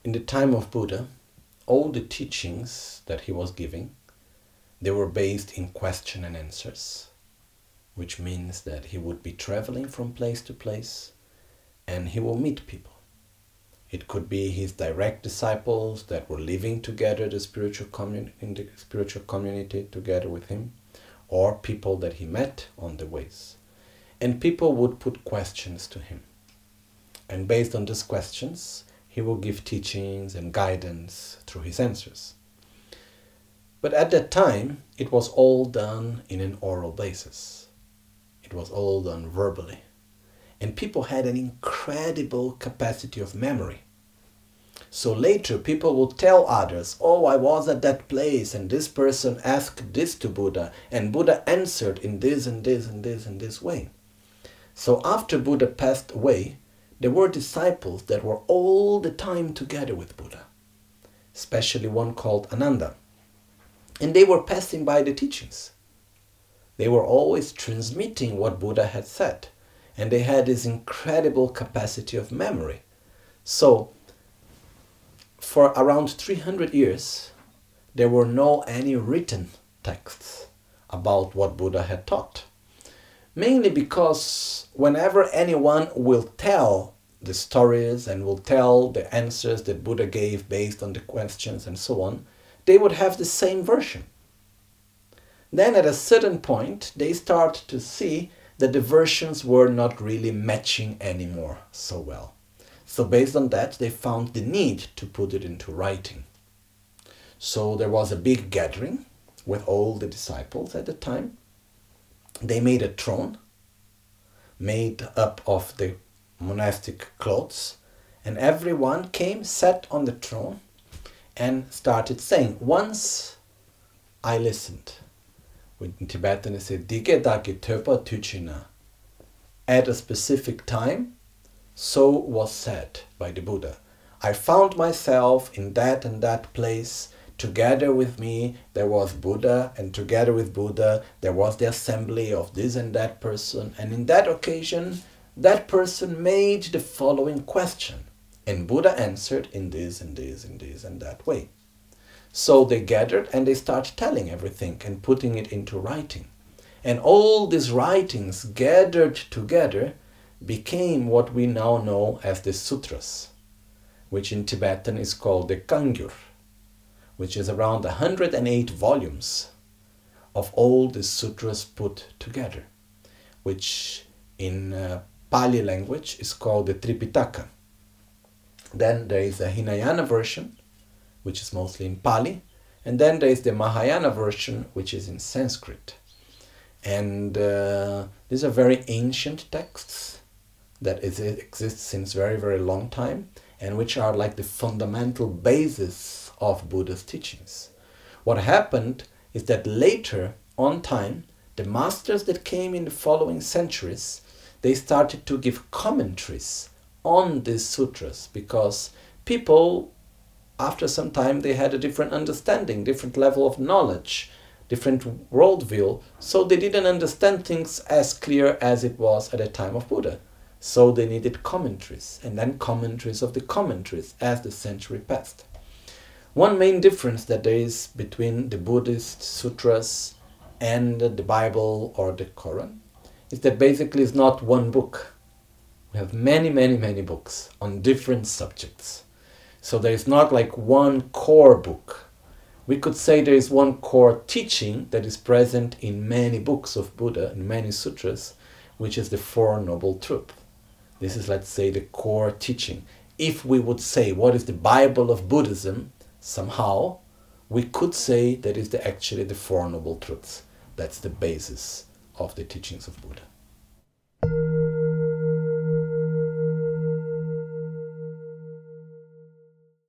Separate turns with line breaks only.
in the time of Buddha, all the teachings that he was giving, they were based in question and answers, which means that he would be traveling from place to place and he will meet people. It could be his direct disciples that were living together in the spiritual community together with him, or people that he met on the ways. And people would put questions to him. And based on these questions, he will give teachings and guidance through his answers. But at that time, it was all done in an oral basis. It was all done verbally. And people had an incredible capacity of memory. So later people will tell others, oh, I was at that place and this person asked this to Buddha and Buddha answered in this and this and this and this way. So after Buddha passed away, there were disciples that were all the time together with Buddha, especially one called Ananda. And they were passing by the teachings. They were always transmitting what Buddha had said. And they had this incredible capacity of memory. So, for around 300 years, there were no any written texts about what Buddha had taught. Mainly because whenever anyone will tell the stories and will tell the answers that Buddha gave based on the questions and so on, they would have the same version. Then at a certain point, they start to see that the versions were not really matching anymore so well. So based on that, they found the need to put it into writing. So there was a big gathering with all the disciples at the time. They made a throne made up of the monastic clothes, and everyone came, sat on the throne, and started saying, once I listened. In Tibetan they say, Dige dake töpa tuchina. At a specific time, so was said by the Buddha. I found myself in that and that place. Together with me there was Buddha, and together with Buddha there was the assembly of this and that person, and in that occasion that person made the following question, and Buddha answered in this and this and this and that way. So they gathered and they started telling everything and putting it into writing. And all these writings gathered together became what we now know as the sutras, which in Tibetan is called the Kangyur, which is around 108 volumes of all the sutras put together, which in Pali language is called the Tripitaka. Then there is a Hinayana version, which is mostly in Pali, and then there is the Mahayana version, which is in Sanskrit. And these are very ancient texts that exist since very, very long time, and which are like the fundamental basis of Buddha's teachings. What happened is that later on time, the masters that came in the following centuries, they started to give commentaries on these sutras, because people, after some time, they had a different understanding, different level of knowledge, different worldview, so they didn't understand things as clear as it was at the time of Buddha. So they needed commentaries, and then commentaries of the commentaries as the century passed. One main difference that there is between the Buddhist sutras and the Bible or the Quran is that basically it's not one book. We have many, many, many books on different subjects. So there is not like one core book. We could say there is one core teaching that is present in many books of Buddha, in many sutras, which is the Four Noble Truths. This is, let's say, the core teaching. If we would say what is the Bible of Buddhism, somehow we could say that is actually the Four Noble Truths. That's the basis of the teachings of Buddha.